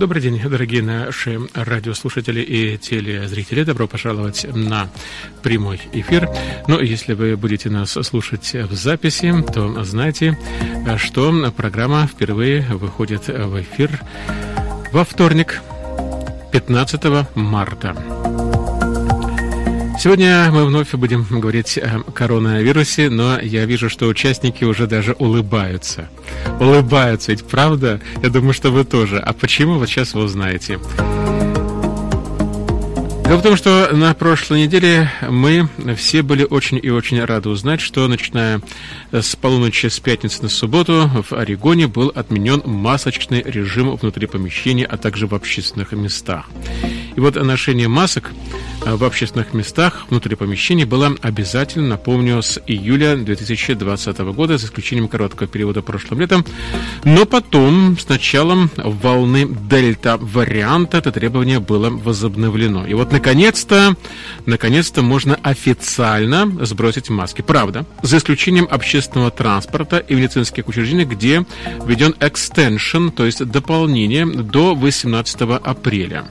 Добрый день, дорогие наши радиослушатели и телезрители. Добро пожаловать на прямой эфир. Ну, если вы будете нас слушать в записи, то знайте, что программа впервые выходит в эфир во вторник, 15 марта. Сегодня мы вновь будем говорить о коронавирусе, но я вижу, что участники уже даже улыбаются. Улыбаются, ведь правда? Я думаю, что вы тоже. А почему? Вот сейчас вы узнаете. Дело в том, что на прошлой неделе мы все были очень и очень рады узнать, что начиная с полуночи с пятницы на субботу в Орегоне был отменен масочный режим внутри помещений, а также в общественных местах. И вот ношение масок в общественных местах внутри помещений было обязательно, напомню, с июля 2020 года, за исключением короткого периода прошлым летом. Но потом, с началом волны дельта-варианта, это требование было возобновлено. И вот, наконец-то можно официально сбросить маски. Правда, за исключением общественного транспорта и медицинских учреждений, где введен экстеншн, то есть дополнение до 18 апреля.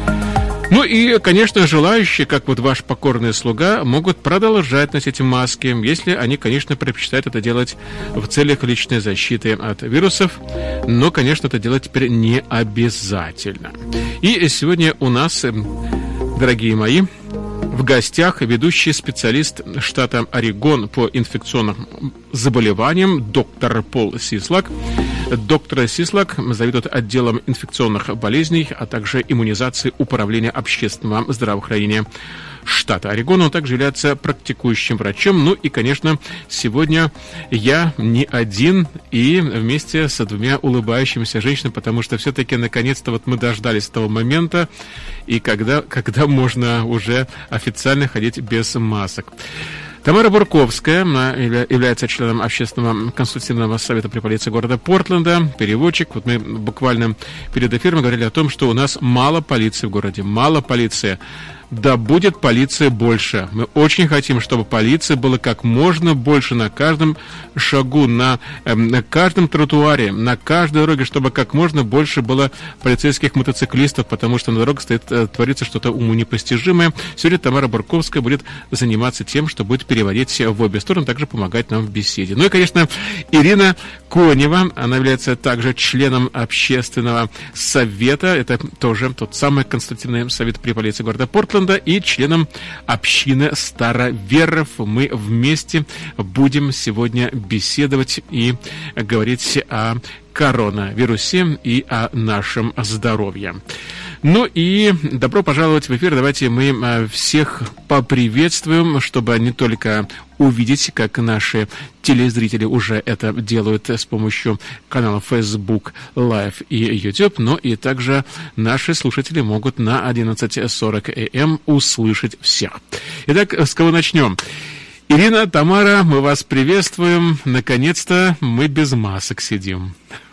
Ну и, конечно, желающие, как вот ваш покорный слуга, могут продолжать носить маски, если они, конечно, предпочитают это делать в целях личной защиты от вирусов, но, конечно, это делать теперь не обязательно. И сегодня у нас, дорогие мои, в гостях ведущий специалист штата Орегон по инфекционным заболеваниям доктор Пол Сислак. Доктор Сислак заведует отделом инфекционных болезней, а также иммунизации Управления общественного здравоохранения штата Орегон. Он также является практикующим врачом. Ну и, конечно, сегодня я не один и вместе с двумя улыбающимися женщинами, потому что все-таки наконец-то вот мы дождались того момента, и когда можно уже официально ходить без масок. Тамара Бурковская является членом Общественного консультативного совета при полиции города Портленда, переводчик. Вот мы буквально перед эфиром говорили о том, что у нас мало полиции в городе, мало полиции. Да будет полиции больше. Мы очень хотим, чтобы полиции было как можно больше на каждом шагу, на каждом тротуаре, на каждой дороге, чтобы как можно больше было полицейских мотоциклистов, потому что на дорогах творится что-то уму непостижимое. Сегодня Тамара Бурковская будет заниматься тем, что будет переводить в обе стороны, также помогать нам в беседе. Ну и, конечно, Ирина Конева, она является также членом общественного совета, это тоже тот самый консультативный совет при полиции города Портленда, и членом общины староверов. Мы вместе будем сегодня беседовать и говорить о коронавирусе и о нашем здоровье. Ну и добро пожаловать в эфир. Давайте мы всех поприветствуем, чтобы не только увидеть, как наши телезрители уже это делают с помощью каналов Facebook Live и YouTube, но и также наши слушатели могут на 11:40 АМ услышать всех. Итак, с кого начнем? Ирина, Тамара, мы вас приветствуем. Наконец-то мы без масок сидим.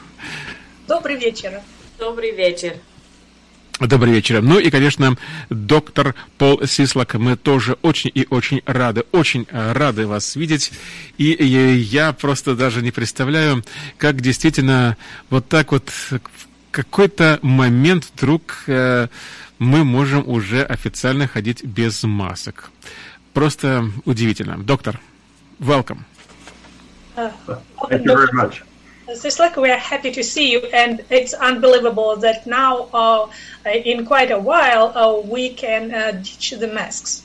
Добрый вечер. Добрый вечер. Добрый вечер. Ну и, конечно, доктор Пол Сислак, мы тоже очень и очень рады вас видеть. И я просто даже не представляю, как действительно вот так вот в какой-то момент вдруг мы можем уже официально ходить без масок. Просто удивительно. Доктор, welcome. Thank you very much. Sislak, we are happy to see you, and it's unbelievable that now, in quite a while, we can ditch the masks.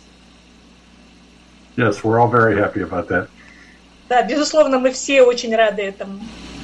Yes, we're all very happy about that. Да, безусловно, мы все очень рады этому.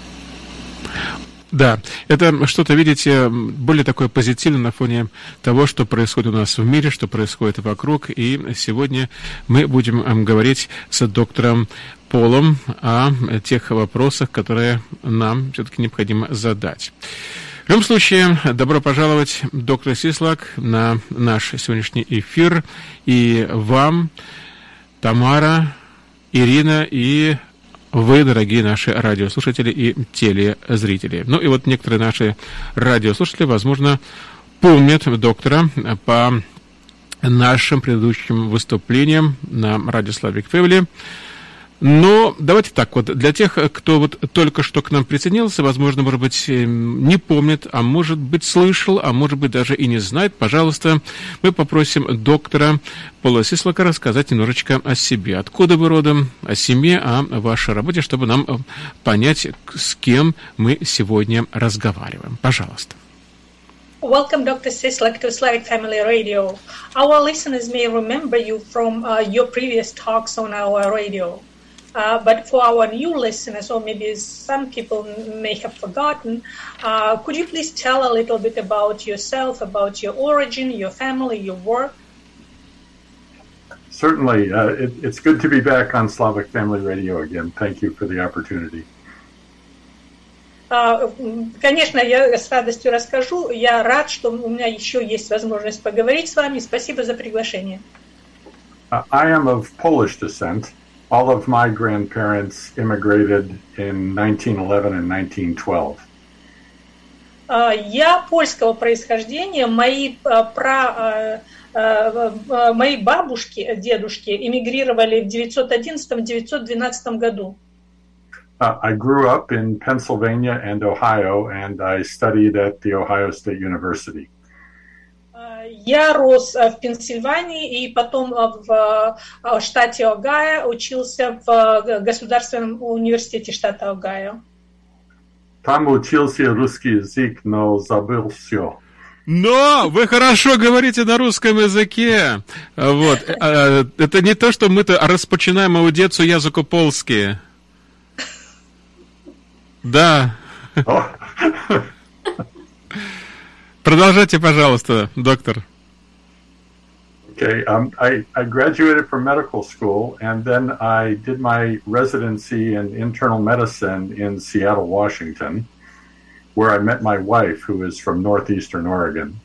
Да, это что-то, видите, более такое позитивное на фоне того, что происходит у нас в мире, что происходит вокруг. И сегодня мы будем говорить с доктором Полом о тех вопросах, которые нам все-таки необходимо задать. В любом случае, добро пожаловать, доктор Сислак, на наш сегодняшний эфир. И вам, Тамара, Ирина и вы, дорогие наши радиослушатели и телезрители. Ну и вот некоторые наши радиослушатели, возможно, помнят доктора по нашим предыдущим выступлениям на радио Slavic Family. Но давайте так вот, для тех, кто вот только что к нам присоединился, возможно, может быть, не помнит, а может быть, слышал, а может быть, даже и не знает, пожалуйста, мы попросим доктора Пола Сислака рассказать немножечко о себе. Откуда вы родом, о семье, о вашей работе, чтобы нам понять, с кем мы сегодня разговариваем. Пожалуйста. Welcome, Dr. Sislak, to Slavic Family Radio. Our listeners may remember you from your previous talks on our radio. But for our new listeners, or maybe some people may have forgotten, could you please tell a little bit about yourself, about your origin, your family, your work? Certainly. It's good to be back on Slavic Family Radio again. Thank you for the opportunity. Конечно, я с радостью расскажу. Я рад, что у меня еще есть возможность поговорить с вами. Спасибо за приглашение. I am of Polish descent. All of my grandparents immigrated in 1911 and 1912. Я польского происхождения. Мои бабушки, дедушки эмигрировали в 1911-1912 году. I grew up in Pennsylvania and Ohio, and I studied at the Ohio State University. Я рос в Пенсильвании и потом в штате Огайо учился в Государственном университете штата Огайо. Там учился русский язык, но забыл все. Но вы хорошо говорите на русском языке. Вот. Это не то, что мы-то распочинаем аудицию языку польский. Да. Продолжайте, пожалуйста, доктор. Okay, I graduated from medical school, and then I did my residency in internal medicine in Seattle, Washington, where I met my wife, who is from northeastern Oregon.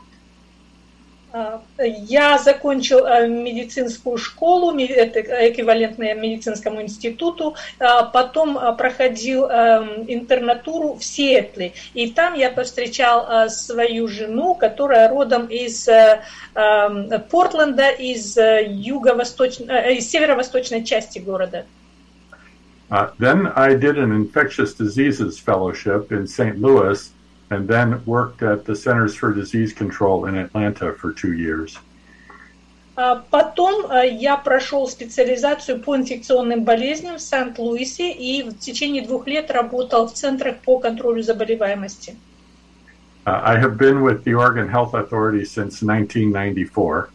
Я закончил медицинскую школу, это эквивалентное медицинскому институту, потом проходил интернатуру в Сиэтле, и там я повстречал свою жену, которая родом из Портленда, из северо-восточной части города. Then I did an infectious diseases fellowship in St. Louis, and then worked at the Centers for Disease Control in Atlanta for 2 years. Потом я прошел специализацию по инфекционным болезням в Сент-Луисе и в течение 2 лет работал в центрах по контролю заболеваемости. I have been with the Oregon Health Authority since 1994.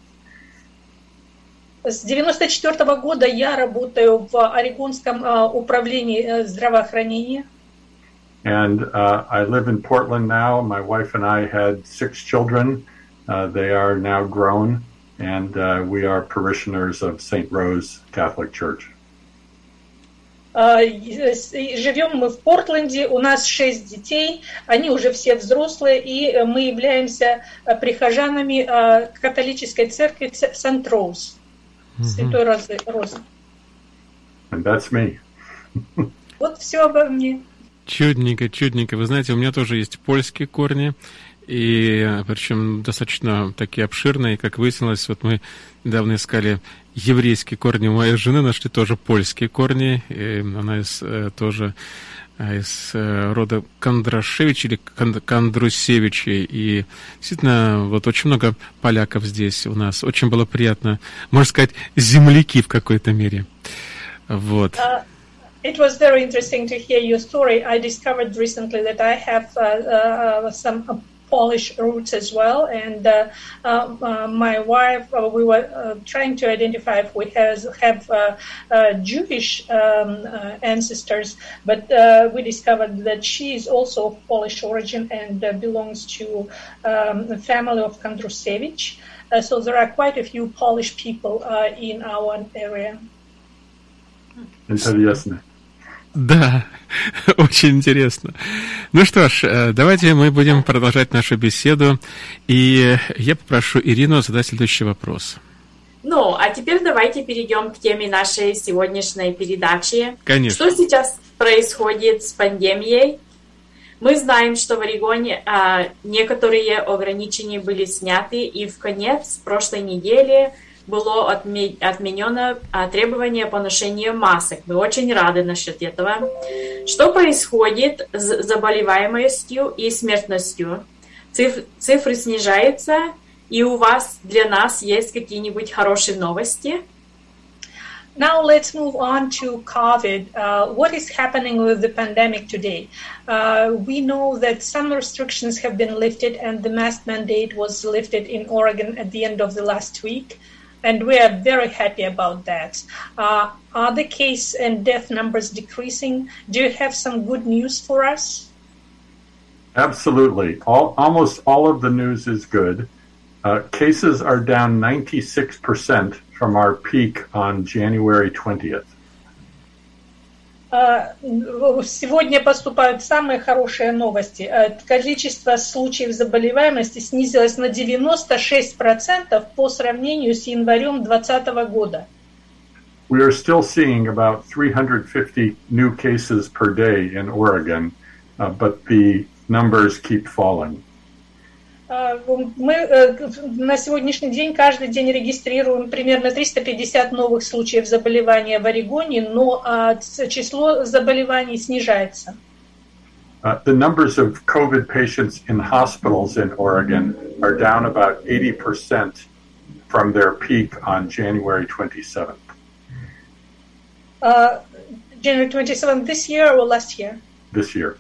С 1994 года я работаю в Орегонском управлении здравоохранения. And I live in Portland now. My wife and I had 6 children. They are now grown, and we are parishioners of St. Rose Catholic Church. Живем мы в Портленде, у нас 6 детей, они уже все взрослые, и мы являемся прихожанами католической церкви Сент-Роуз, Святой Розы. And that's me. Вот все обо мне. Чудненько, чудненько. Вы знаете, у меня тоже есть польские корни, и причем достаточно такие обширные. Как выяснилось, вот мы недавно искали еврейские корни у моей жены, нашли тоже польские корни. И она тоже из рода Кондрашевич или Кондрусевичей. И действительно, вот очень много поляков здесь у нас. Очень было приятно, можно сказать, земляки в какой-то мере. Вот. It was very interesting to hear your story. I discovered recently that I have some Polish roots as well, and my wife, we were trying to identify if we have Jewish ancestors, but we discovered that she is also of Polish origin and belongs to the family of Kondrusevich. So there are quite a few Polish people in our area. Интересно. Да, очень интересно. Ну что ж, давайте мы будем продолжать нашу беседу. И я попрошу Ирину задать следующий вопрос. Ну, а теперь давайте перейдем к теме нашей сегодняшней передачи. Конечно. Что сейчас происходит с пандемией? Мы знаем, что в Орегоне некоторые ограничения были сняты, и в конец прошлой недели было отменено требование по ношению масок. Мы очень рады насчет этого. Что происходит с заболеваемостью и смертностью? Цифры снижаются, и у вас для нас есть какие-нибудь хорошие новости? Now let's move on to COVID. What is happening with the pandemic today? We know that some restrictions have been lifted and the mask mandate was lifted in Oregon at the end of the last week. And we are very happy about that. Are the case and death numbers decreasing? Do you have some good news for us? Absolutely. Almost all of the news is good. Cases are down 96% from our peak on January 20th. Сегодня поступают самые хорошие новости. Количество случаев заболеваемости снизилось на 96% по сравнению с январем 2020 года. We are still seeing about 350 new cases per day in Oregon, but the numbers keep falling. Мы на сегодняшний день каждый день регистрируем примерно 350 новых случаев заболевания в Орегоне, но число заболеваний снижается. The numbers of COVID patients in hospitals in Oregon are down about 80% from their peak on January 27th. January 27th this year or last year? This year.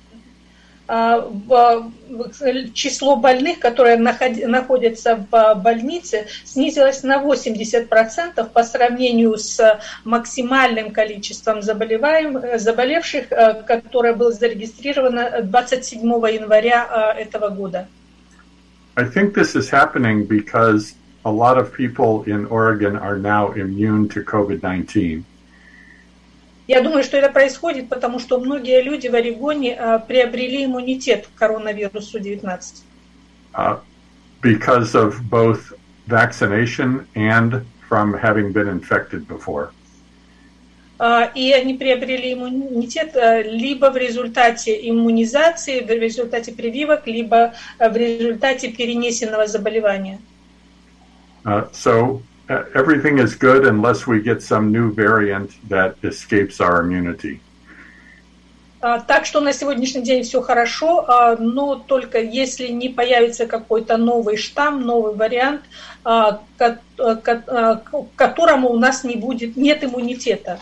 Число больных, которые находятся в больнице, снизилось на 80% по сравнению с максимальным количеством заболевших, которое было зарегистрировано 27 января этого года. I think this is happening because a lot of people in Oregon are now immune to COVID-19. Я думаю, что это происходит, потому что многие люди в Орегоне приобрели иммунитет к коронавирусу 19. Because of both vaccination and from having been infected before. И они приобрели иммунитет либо в результате иммунизации, в результате прививок, либо в результате перенесенного заболевания. Everything is good unless we get some new variant that escapes our immunity. Так что на сегодняшний день все хорошо, но только если не появится какой-то новый штамм, новый вариант, к которому у нас нет иммунитета.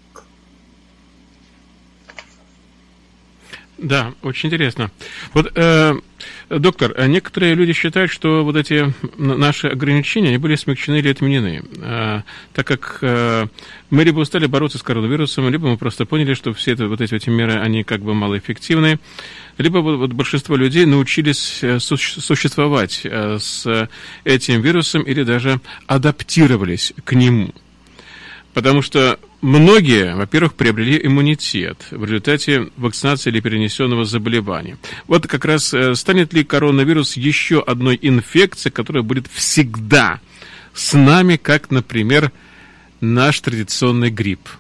Да, очень интересно. Вот, доктор, некоторые люди считают, что вот эти наши ограничения, они были смягчены или отменены, так как мы либо устали бороться с коронавирусом, либо мы просто поняли, что все эти меры, они как бы малоэффективны, либо вот большинство людей научились существовать с этим вирусом или даже адаптировались к нему. Потому что многие, во-первых, приобрели иммунитет в результате вакцинации или перенесенного заболевания. Вот как раз станет ли коронавирус еще одной инфекцией, которая будет всегда с нами, как, например, наш традиционный грипп?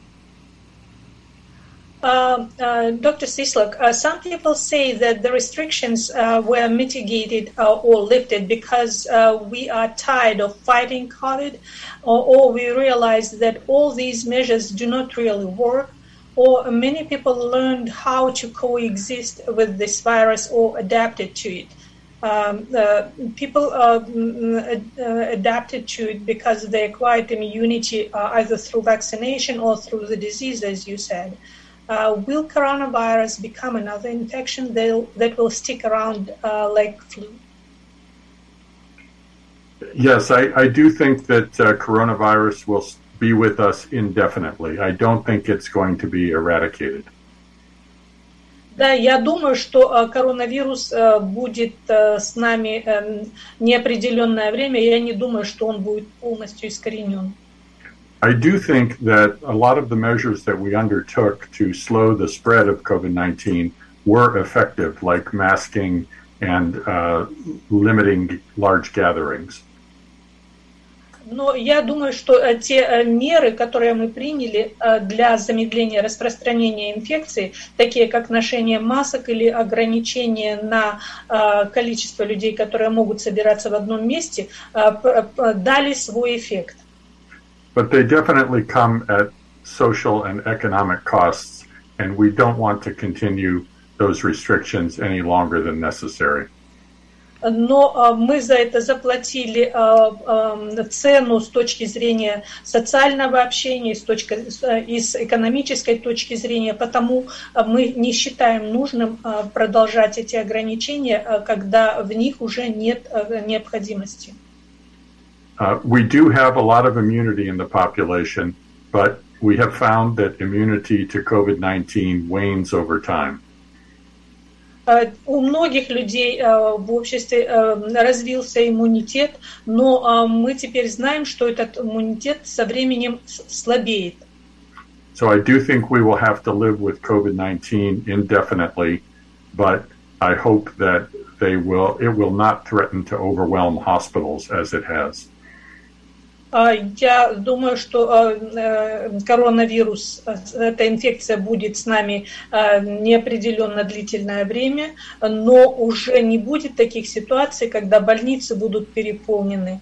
Dr. Cislak, some people say that the restrictions were mitigated or lifted because we are tired of fighting COVID, or we realize that all these measures do not really work, or many people learned how to coexist with this virus or adapted to it. People adapted to it because they acquired immunity either through vaccination or through the disease, as you said. Will coronavirus become another infection that will stick around like flu? Yes, I do think that coronavirus will be with us indefinitely. I don't think it's going to be eradicated. Да, я думаю, что коронавирус будет с нами неопределенное время. Я не думаю, что он будет полностью искоренен. I do think that a lot of the measures that we undertook to slow the spread of COVID-19 were effective, like masking and limiting large gatherings. Но я думаю, что те меры, которые мы приняли для замедления распространения инфекции, такие как ношение масок или ограничение на количество людей, которые могут собираться в одном месте, дали свой эффект. But they definitely come at social and economic costs, and we don't want to continue those restrictions any longer than necessary. Но мы за это заплатили цену с точки зрения социального общения, и с экономической точки зрения, потому мы не считаем нужным продолжать эти ограничения, когда в них уже нет необходимости. We do have a lot of immunity in the population, but we have found that immunity to COVID-19 wanes over time. У многих людей в обществе развился иммунитет, но мы теперь знаем, что этот иммунитет со временем слабеет. So I do think we will have to live with COVID-19 indefinitely, but I hope that it will not threaten to overwhelm hospitals as it has. Я думаю, что коронавирус, эта инфекция будет с нами неопределенно длительное время, но уже не будет таких ситуаций, когда больницы будут переполнены.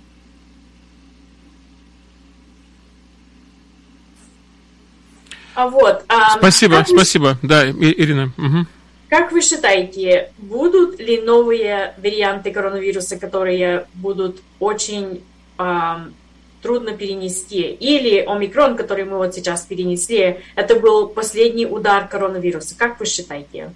Спасибо. Да, Ирина. Угу. Как вы считаете, будут ли новые варианты коронавируса, которые будут очень трудно перенести, или омикрон, который мы вот сейчас перенесли, это был последний удар коронавируса? Как вы считаете?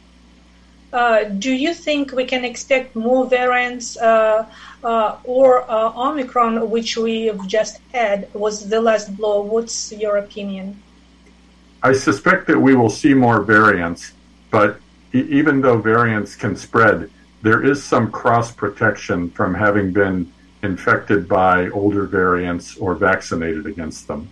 Do you think we can expect more variants or Omicron, which we've just had, was the last blow? What's your opinion? I suspect that we will see more variants, but even though variants can spread, there is some cross-protection from having been infected by older variants or vaccinated against them.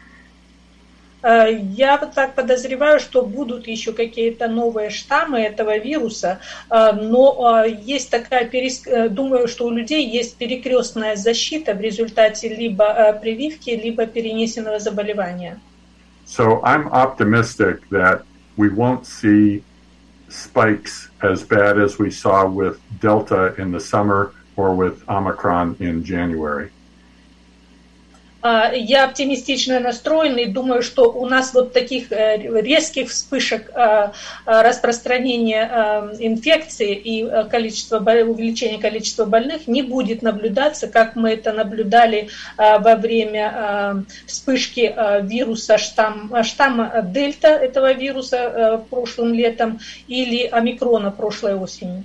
Я вот так подозреваю, что будут еще какие-то новые штаммы этого вируса, но есть такая, думаю, что у людей есть перекрестная защита в результате либо прививки, либо перенесенного заболевания. So I'm optimistic that we won't see spikes as bad as we saw with Delta in the summer or with Omicron in January. Я оптимистично настроен и думаю, что у нас вот таких резких вспышек распространения инфекции и увеличения количества больных не будет наблюдаться, как мы это наблюдали во время вспышки вируса штамма Дельта этого вируса прошлым летом или омикрона прошлой осенью.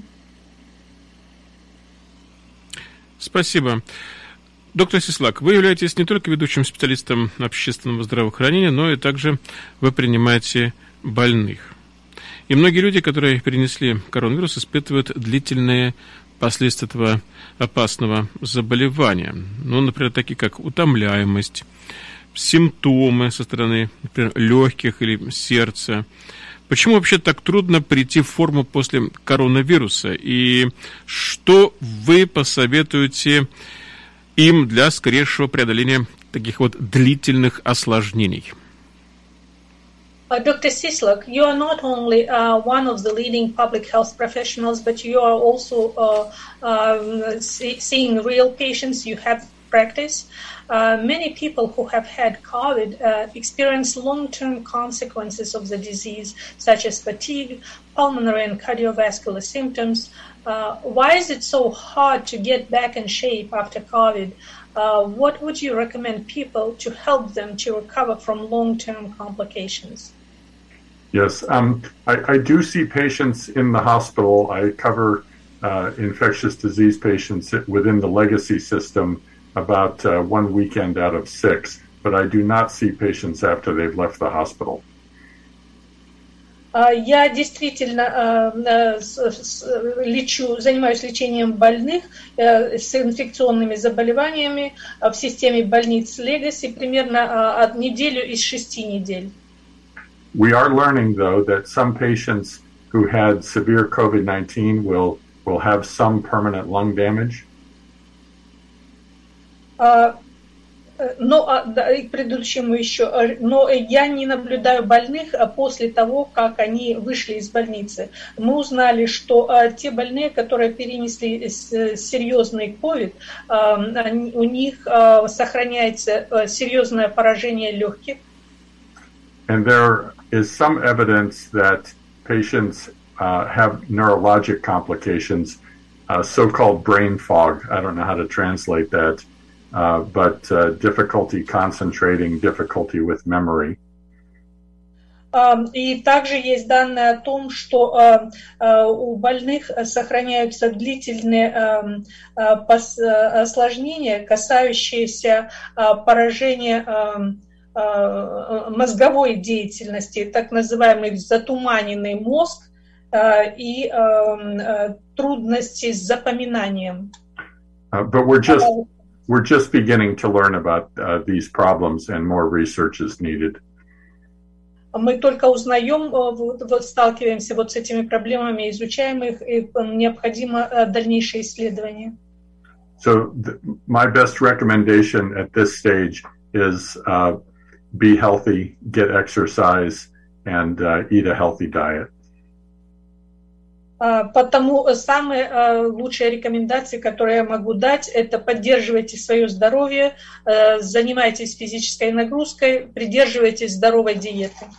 Спасибо. Доктор Сислак, вы являетесь не только ведущим специалистом общественного здравоохранения, но и также вы принимаете больных. И многие люди, которые перенесли коронавирус, испытывают длительные последствия этого опасного заболевания. Ну, например, такие как утомляемость, симптомы со стороны, например, легких или сердца. Почему вообще так трудно прийти в форму после коронавируса? И что вы посоветуете им для скорейшего преодоления таких вот длительных осложнений? Dr. Sislak, you are not only one of the leading public health professionals, but you are also seeing real patients. You have practice. Many people who have had COVID experience long-term consequences of the disease, such as fatigue, pulmonary and cardiovascular symptoms. Why is it so hard to get back in shape after COVID? What would you recommend people to help them to recover from long-term complications? Yes, I do see patients in the hospital. I cover infectious disease patients within the legacy system about 1 weekend out of 6, but I do not see patients after they've left the hospital. Я действительно занимаюсь лечением больных с инфекционными заболеваниями в системе больниц Legacy примерно от неделю из 6 недель. We are learning, though, that some patients who had severe COVID-19 will have some permanent lung damage. Да, и к предыдущему еще, но я не наблюдаю больных после того, как они вышли из больницы. Мы узнали, что те больные, которые перенесли серьезный COVID, у них сохраняется серьезное поражение легких. And there is some evidence that patients have neurologic complications, so-called brain fog. I don't know how to translate that. But difficulty concentrating, difficulty with memory. И также есть данные о том, что у больных сохраняются длительные осложнения, касающиеся поражения мозговой деятельности, так называемый затуманенный мозг и трудности с запоминанием. But we're just beginning to learn about these problems, and more research is needed. Мы только узнаем, сталкиваемся с этими проблемами, изучаем их, и необходимо дальнейшее исследование. So my best recommendation at this stage is be healthy, get exercise, and eat a healthy diet. Потому самые лучшие рекомендации, которые я могу дать, это поддерживайте свое здоровье, занимайтесь физической нагрузкой, придерживайтесь здоровой диеты.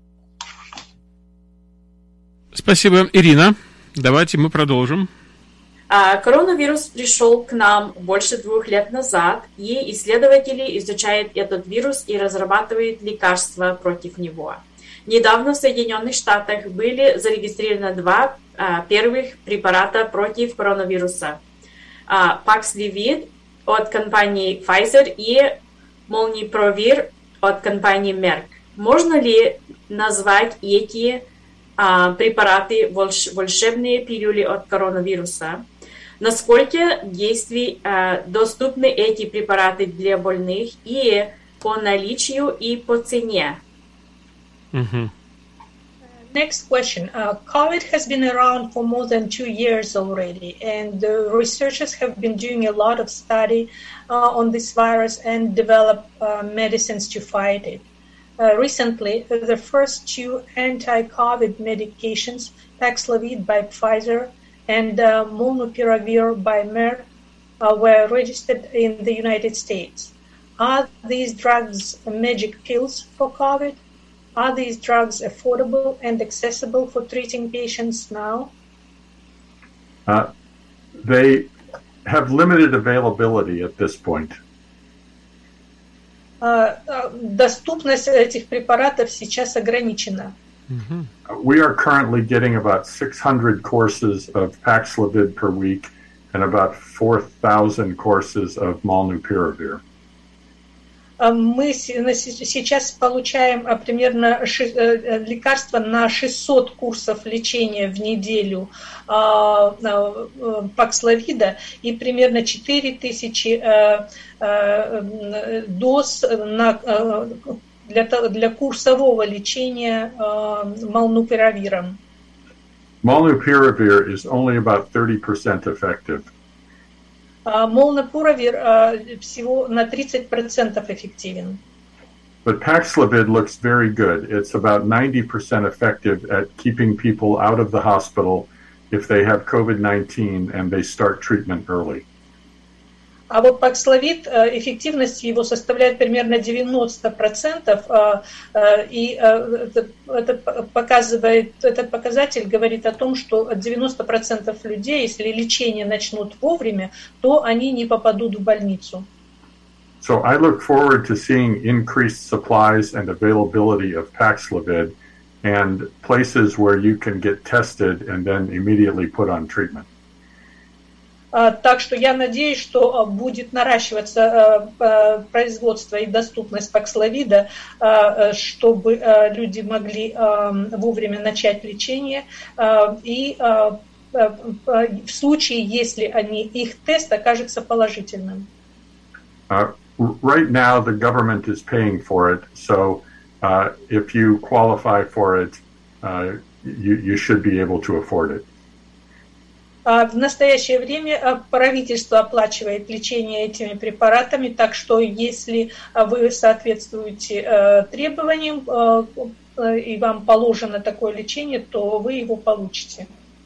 Спасибо, Ирина. Давайте мы продолжим. Коронавирус пришел к нам больше 2 лет назад, и исследователи изучают этот вирус и разрабатывают лекарства против него. Недавно в Соединенных Штатах были зарегистрированы 2 первых препарата против коронавируса. Paxlovid от компании Pfizer и Molnupiravir от компании Merck. Можно ли назвать эти препараты волшебные пилюли от коронавируса? Насколько доступны эти препараты для больных и по наличию, и по цене? Next question. COVID has been around for more than 2 years already, and researchers have been doing a lot of study on this virus and develop medicines to fight it. Recently, the first 2 anti-COVID medications, Paxlovid by Pfizer and Molnupiravir by Merck, were registered in the United States. Are these drugs magic pills for COVID? Are these drugs affordable and accessible for treating patients now? They have limited availability at this point. Доступность этих препаратов сейчас ограничена. We are currently getting about 600 courses of Paxlovid per week and about 4,000 courses of Molnupiravir. Мы сейчас получаем примерно лекарства на 600 курсов лечения в неделю Паксловида и примерно 4000 доз для курсового лечения молнупиравиром. Molnupiravir is only about 30% effective. Molnupiravir всего на 30% эффективен. But Paxlovid looks very good. It's about 90% effective at keeping people out of the hospital if they have COVID-19 and they start treatment early. А вот Paxlovid, эффективность его составляет примерно 90%, и этот показатель говорит о том, что 90% людей, если лечение начнут вовремя, то они не попадут в больницу. So I look forward to seeing increased supplies and availability of Paxlovid and places where you can get tested and then immediately put on treatment. Так что я надеюсь, что будет наращиваться производство и доступность Паксловида, чтобы люди могли вовремя начать лечение. И в случае, если их тест окажется положительным. Right now, the government is paying for it, so if you qualify for it, you should be able to afford it. В настоящее время правительство оплачивает лечение этими препаратами, так что если вы соответствуете требованиям и вам положено такое лечение, то вы его получите.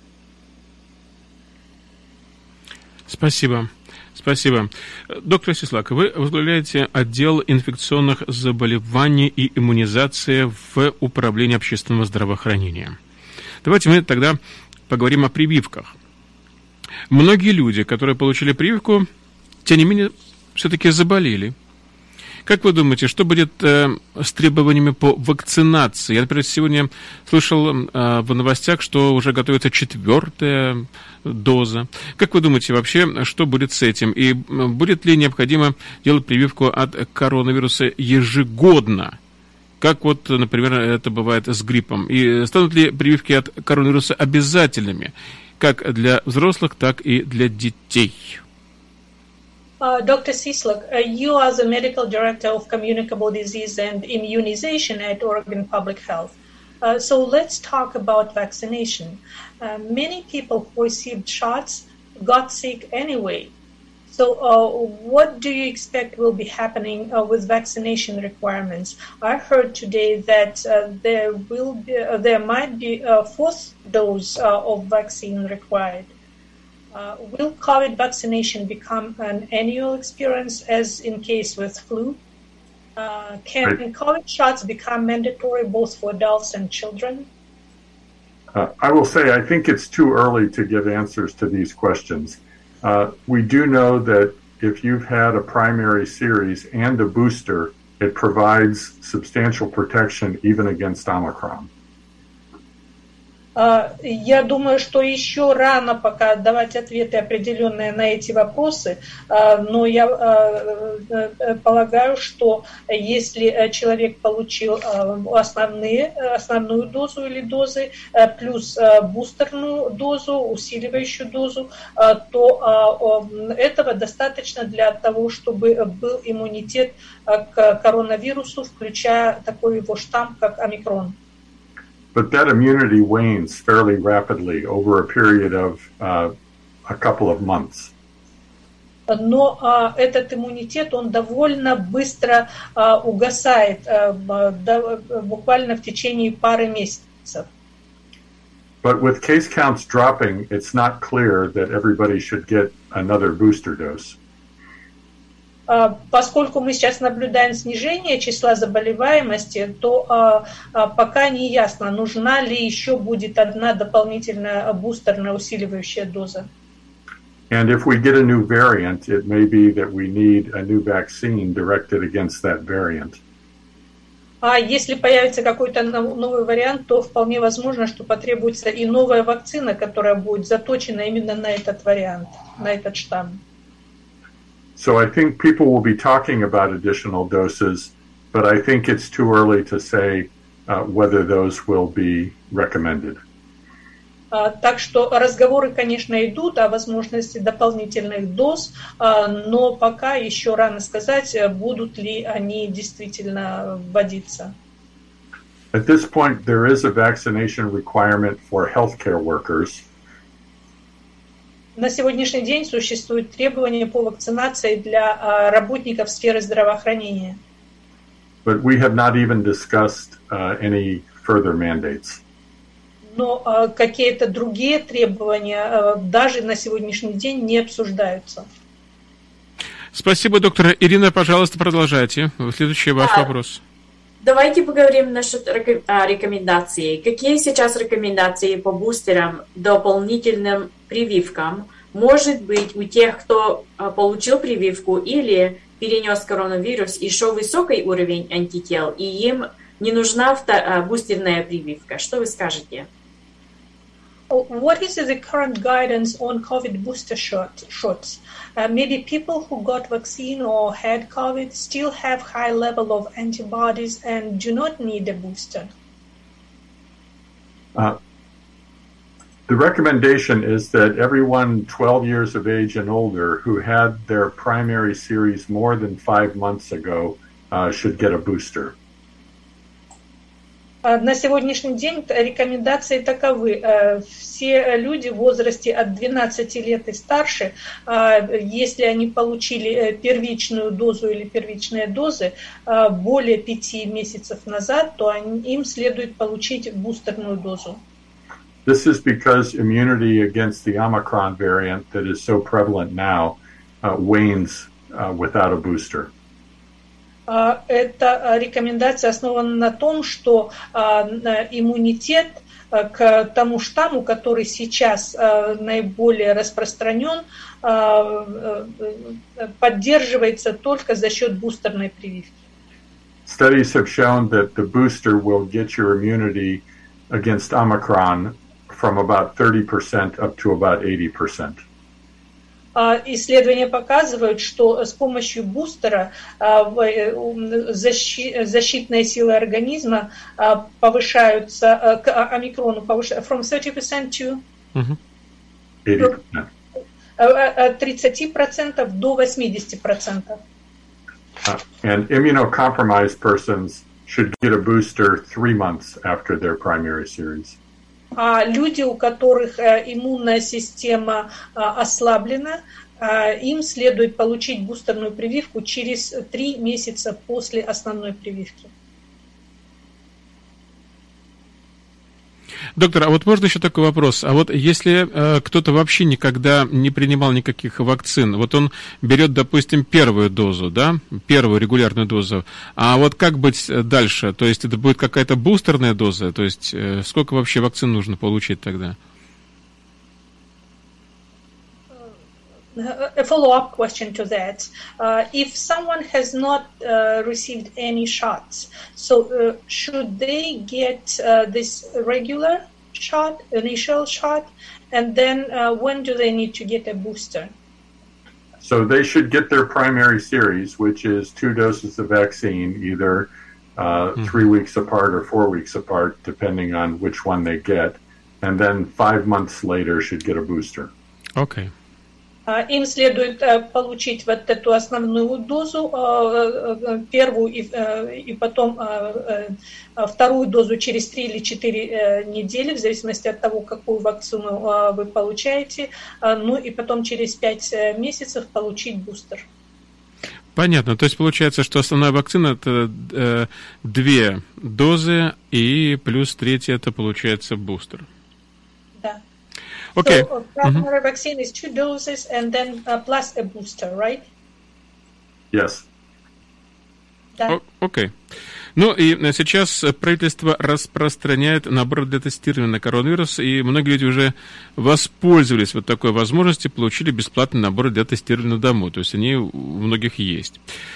Спасибо. Спасибо. Доктор Сислак, вы возглавляете отдел инфекционных заболеваний и иммунизации в Управлении общественного здравоохранения. Давайте мы тогда поговорим о прививках. Многие люди, которые получили прививку, тем не менее, все-таки заболели. Как вы думаете, что будет с требованиями по вакцинации? Я, например, сегодня слышал в новостях, что уже готовится 4-я доза. Как вы думаете вообще, что будет с этим? И будет ли необходимо делать прививку от коронавируса ежегодно? Как вот, например, это бывает с гриппом? И станут ли прививки от коронавируса обязательными, как для взрослых, так и для детей? Dr. Cislak, you are the Medical Director of Communicable Disease and Immunization at Oregon Public Health. So let's talk about vaccination. Many people who received shots got sick anyway. So what do you expect will be happening with vaccination requirements? I heard today that there might be a 4th dose of vaccine required. Will COVID vaccination become an annual experience as in case with flu? Can COVID shots become mandatory both for adults and children? I will say I think it's too early to give answers to these questions. We do know that if you've had a primary series and a booster, it provides substantial protection even against Omicron. Я думаю, что еще рано пока давать ответы определенные на эти вопросы, но я полагаю, что если человек получил основную дозу или дозы, плюс бустерную дозу, усиливающую дозу, то этого достаточно для того, чтобы был иммунитет к коронавирусу, включая такой его штамм, как омикрон. But that immunity wanes fairly rapidly over a period of a couple of months. Но этот иммунитет, он довольно быстро угасает, буквально в течение пары месяцев. But with case counts dropping, it's not clear that everybody should get another booster dose. Поскольку мы сейчас наблюдаем снижение числа заболеваемости, то пока не ясно, нужна ли еще будет одна дополнительная бустерная усиливающая доза. And if we get a new variant, it may be that we need a new vaccine directed against that variant. А если появится какой-то новый вариант, то вполне возможно, что потребуется и новая вакцина, которая будет заточена именно на этот вариант, на этот штамм. So I think people will be talking about additional doses, but I think it's too early to say whether those will be recommended. Так что разговоры, конечно, идут о возможности дополнительных доз, но пока еще рано сказать, будут ли они действительно вводиться. At this point, there is a vaccination requirement for healthcare workers. На сегодняшний день существуют требования по вакцинации для работников сферы здравоохранения. But we have not even discussed any further mandates. Но какие-то другие требования даже на сегодняшний день не обсуждаются. Спасибо, доктор. Ирина, пожалуйста, продолжайте. Следующий ваш вопрос. Давайте поговорим насчет рекомендаций. Какие сейчас рекомендации по бустерам, дополнительным прививкам? Может быть, у тех, кто получил прививку или перенес коронавирус, еще высокий уровень антител, и им не нужна бустерная прививка. Что вы скажете? What is the current guidance on COVID booster shots? Maybe people who got vaccine or had COVID still have high level of antibodies and do not need a booster. The recommendation is that everyone 12 years of age and older who had their primary series more than 5 months ago should get a booster. На сегодняшний день рекомендации таковы. Все люди в возрасте от 12 лет и старше, если они получили первичную дозу или первичные дозы более 5 месяцев назад, то им следует получить бустерную дозу. This is because immunity against the Omicron variant that is so prevalent now wanes without a booster. Эта рекомендация основана на том, что иммунитет к тому штамму, который сейчас наиболее распространен, поддерживается только за счет бустерной прививки. Studies have shown that the booster will get your immunity against Omicron from about 30% up to about 80%. Исследования показывают, что с помощью бустера защитные силы организма повышаются к омикрону from 30% to 80%. От 30% до 80%. And immunocompromised persons should get a booster 3 months after their primary series. А люди, у которых иммунная система ослаблена, им следует получить бустерную прививку через 3 месяца после основной прививки. Доктор, а вот можно еще такой вопрос? А вот если кто-то вообще никогда не принимал никаких вакцин, вот он берет, допустим, первую дозу, да, первую регулярную дозу, а вот как быть дальше? То есть это будет какая-то бустерная доза? То есть сколько вообще вакцин нужно получить тогда? A follow-up question to that. If someone has not received any shots, so should they get this regular shot, initial shot, and then when do they need to get a booster? So they should get their primary series, which is 2 doses of vaccine, either 3 weeks apart or 4 weeks apart, depending on which one they get, and then 5 months later should get a booster. Okay. Им следует получить вот эту основную дозу, первую и потом вторую дозу через 3 или 4 недели, в зависимости от того, какую вакцину вы получаете, ну и потом через 5 месяцев получить бустер. Понятно. То есть получается, что основная вакцина это 2 дозы и плюс 3 это получается бустер. Да. Okay. So primary vaccine is 2 doses and then plus a booster, right? Yes. Да. Окей. Ну и сейчас правительство распространяет набор для тестирования на коронавирус, и многие люди уже воспользовались вот такой возможностью, получили бесплатный набор для тестирования дому, то есть они у многих есть.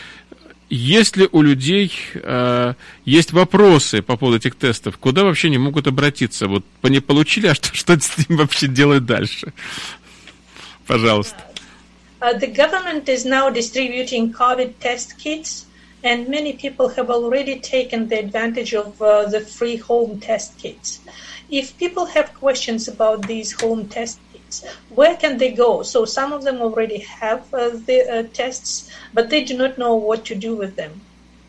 Если у людей есть вопросы по поводу этих тестов, куда вообще они могут обратиться? Вот они получили, а что с ним вообще делать дальше? Пожалуйста. The government is now distributing COVID test kits, and many people have already taken the advantage of the free home test kits. If people have questions about these home test kits, where can they go? So some of them already have the tests, but they do not know what to do with them.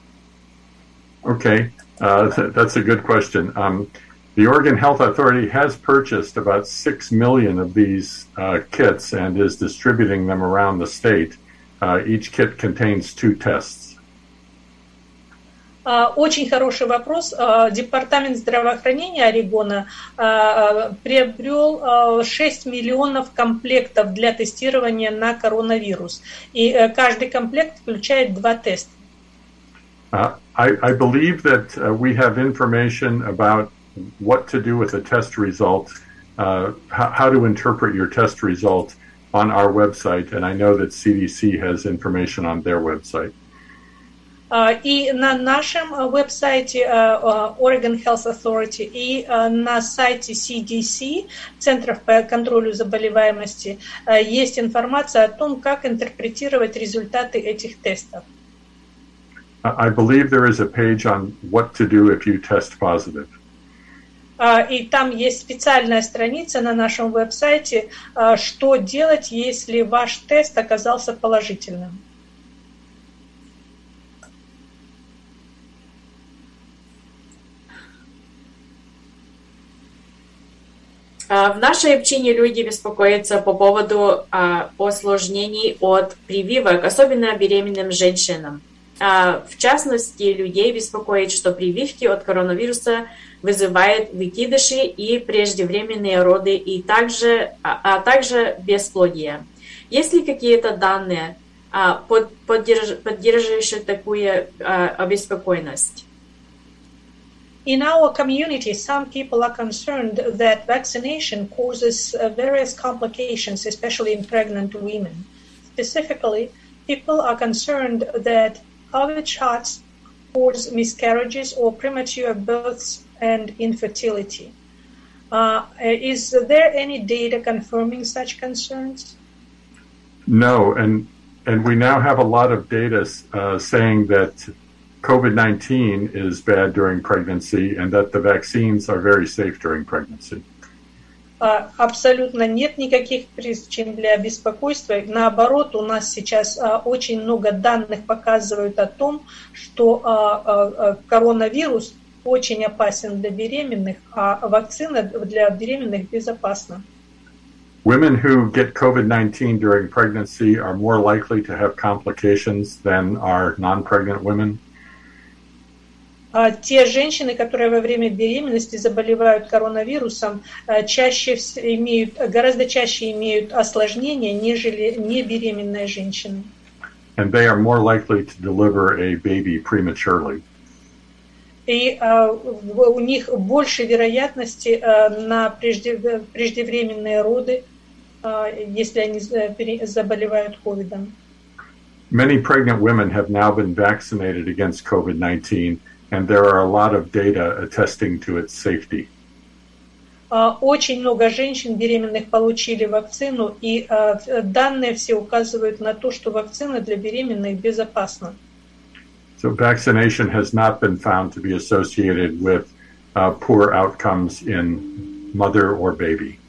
Okay, that's a good question. The Oregon Health Authority has purchased about 6 million of these kits and is distributing them around the state. Each kit contains 2 tests. Очень хороший вопрос. Департамент здравоохранения Орегона приобрел 6 миллионов комплектов для тестирования на коронавирус. И каждый комплект включает 2 теста. I believe that we have information about what to do with a test result, how to interpret your test result on our website, and I know that CDC has information on their website. И на нашем веб-сайте Oregon Health Authority и на сайте CDC, Центров по контролю заболеваемости, есть информация о том, как интерпретировать результаты этих тестов. I believe there is a page on what to do if you test positive. И там есть специальная страница на нашем веб-сайте, что делать, если ваш тест оказался положительным. В нашей общине люди беспокоятся по поводу осложнений от прививок, особенно беременным женщинам. В частности, людей беспокоит, что прививки от коронавируса вызывают выкидыши и преждевременные роды, и также бесплодие. Есть ли какие-то данные, поддерживающие такую обеспокоенность? In our community, some people are concerned that vaccination causes various complications, especially in pregnant women. Specifically, people are concerned that COVID shots cause miscarriages or premature births and infertility. Is there any data confirming such concerns? No, and we now have a lot of data saying that COVID-19 is bad during pregnancy and that the vaccines are very safe during pregnancy. Абсолютно нет никаких причин для беспокойства. Наоборот, у нас сейчас очень много данных показывают о том, что коронавирус очень опасен для беременных, а вакцина для беременных безопасна. Women who get COVID-19 during pregnancy are more likely to have complications than are non-pregnant women. Те женщины, которые во время беременности заболевают коронавирусом, гораздо чаще имеют осложнения, нежели небеременные женщины. And they are more likely to deliver a baby prematurely. И у них больше вероятности на преждевременные роды, если они заболевают ковидом. Many pregnant women have now been vaccinated against COVID-19. And there are a lot of data attesting to its safety. Очень много женщин беременных получили вакцину, и данные все указывают на то, что вакцина для беременных безопасна. So vaccination has not been found to be associated with poor outcomes in mother or baby.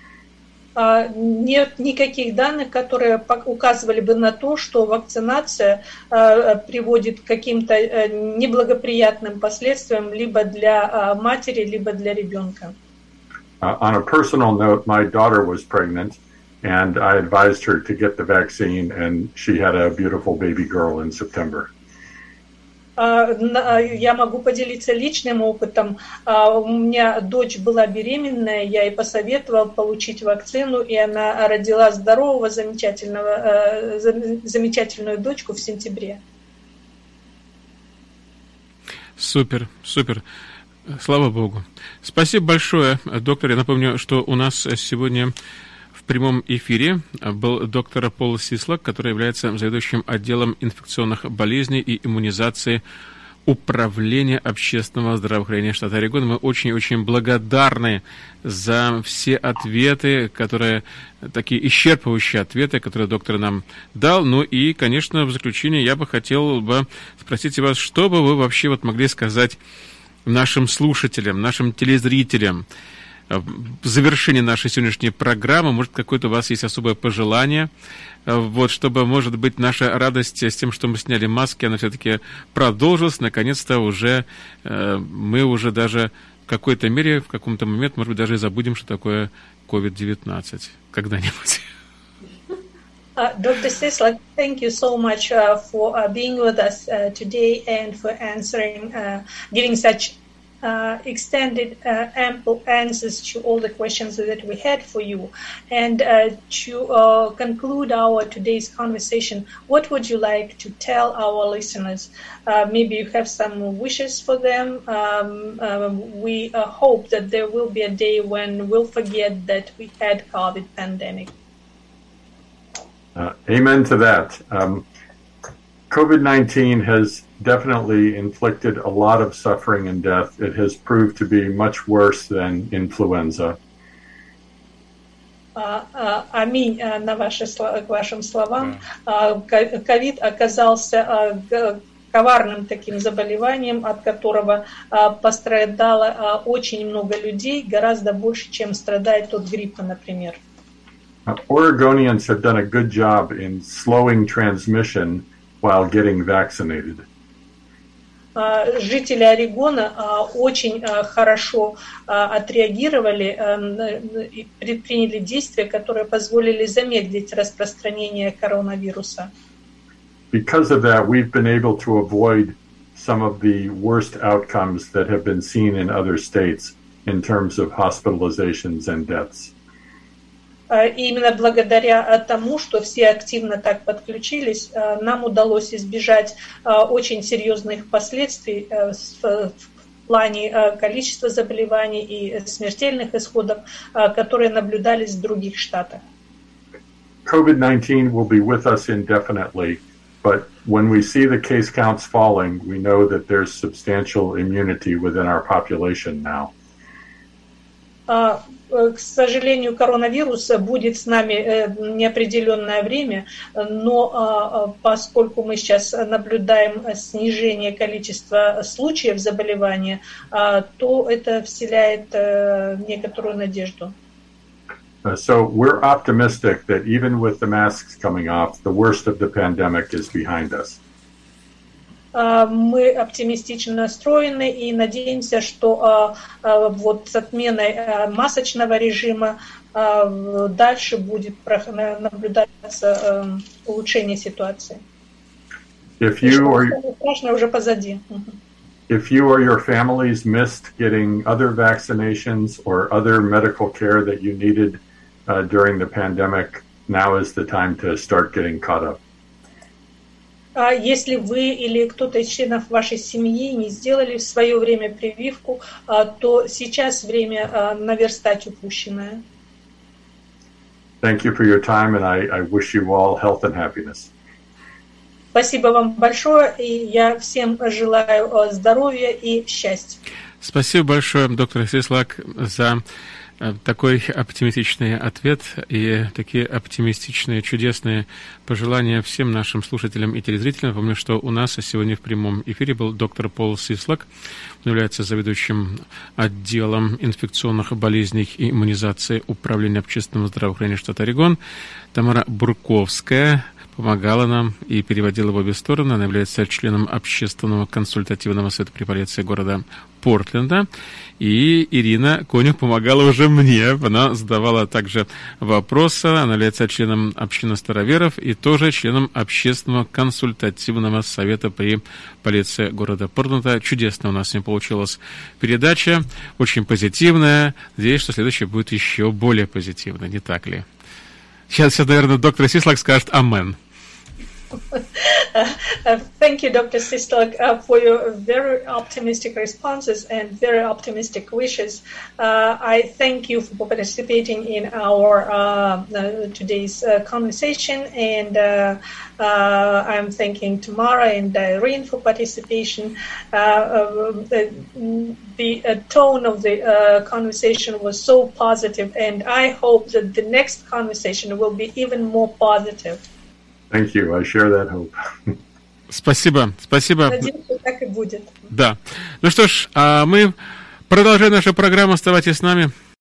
Нет никаких данных, которые указывали бы на то, что вакцинация приводит к каким-то неблагоприятным последствиям либо для матери, либо для ребенка. On a personal note, my daughter was pregnant, and I advised her to get the vaccine, and she had a beautiful baby girl in September. Я могу поделиться личным опытом. У меня дочь была беременная, я ей посоветовал получить вакцину, и она родила здорового, замечательную дочку в сентябре. Супер, супер. Слава Богу. Спасибо большое, доктор. Я напомню, что у нас сегодня в прямом эфире был доктор Пол Сислак, который является заведующим отделом инфекционных болезней и иммунизации Управления общественного здравоохранения штата Орегон. Мы очень-очень благодарны за все ответы, такие исчерпывающие ответы, которые доктор нам дал. Ну и, конечно, в заключение я бы хотел спросить вас, что бы вы вообще могли сказать нашим слушателям, нашим телезрителям в завершении нашей сегодняшней программы. Может, какое-то у вас есть особое пожелание, чтобы, может быть, наша радость с тем, что мы сняли маски, она все-таки продолжилась. Наконец-то мы уже даже в какой-то мере, в каком-то момент, может быть, даже и забудем, что такое COVID-19 когда-нибудь. Dr. Sislak, thank you so much for being with us today and for answering, giving such extended, ample answers to all the questions that we had for you. And to conclude our today's conversation, what would you like to tell our listeners? Maybe you have some wishes for them. We hope that there will be a day when we'll forget that we had COVID pandemic. Amen to that. COVID-19 has definitely inflicted a lot of suffering and death. It has proved to be much worse than influenza. Аминь на к вашим словам. Ковид оказался коварным таким заболеванием, от которого пострадало очень много людей, гораздо больше, чем страдает от гриппа, например. Oregonians have done a good job in slowing transmission while getting vaccinated. жители Орегона очень хорошо отреагировали и предприняли действия, которые позволили замедлить распространение коронавируса. Because of that, we've been able to avoid some of the worst outcomes that have been seen in other states in terms of hospitalizations and deaths. И именно благодаря тому, что все активно так подключились, нам удалось избежать очень серьезных последствий в плане количества заболеваний и смертельных исходов, которые наблюдались в других штатах. COVID-19 will be with us indefinitely, but when we see the case counts falling, we know that there's substantial immunity within our population now. К сожалению, коронавирус будет с нами неопределенное время, но поскольку мы сейчас наблюдаем снижение количества случаев заболевания, то это вселяет некоторую надежду. So we're optimistic that even with the masks coming off, the worst of the pandemic is behind us. Мы оптимистично настроены и надеемся, что вот с отменой масочного режима дальше будет наблюдаться улучшение ситуации. Страшное уже позади. If you or your families missed getting other vaccinations or other medical care that you needed during the pandemic, now is the time to start getting caught up. Если вы или кто-то из членов вашей семьи не сделали в свое время прививку, то сейчас время наверстать упущенное. Thank you for your time, and I wish you all health and happiness. Спасибо вам большое, и я всем желаю здоровья и счастья. Спасибо большое, доктор Сислак, за такой оптимистичный ответ и такие оптимистичные, чудесные пожелания всем нашим слушателям и телезрителям. Помню, что у нас сегодня в прямом эфире был доктор Пол Сислак. Он является заведующим отделом инфекционных болезней и иммунизации Управления общественного здравоохранения штата Орегон. Тамара Бурковская помогала нам и переводила в обе стороны. Она является членом общественного консультативного совета при полиции города Портленда. И Ирина Конюх помогала уже мне. Она задавала также вопросы. Она является членом общины староверов и тоже членом общественного консультативного совета при полиции города Портленда. Чудесно у нас с ним получилась передача. Очень позитивная. Надеюсь, что следующая будет еще более позитивная. Не так ли? Сейчас, наверное, доктор Сислак скажет «Амен». Thank you, Dr. Sislak, for your very optimistic responses and very optimistic wishes. I thank you for participating in our today's conversation, and I'm thanking Tamara and Irene for participation. The tone of the conversation was so positive, and I hope that the next conversation will be even more positive. Thank you. I share that hope. Спасибо, спасибо. Надеюсь, что так и будет. Да. Ну что ж, мы продолжаем нашу программу. Оставайтесь с нами.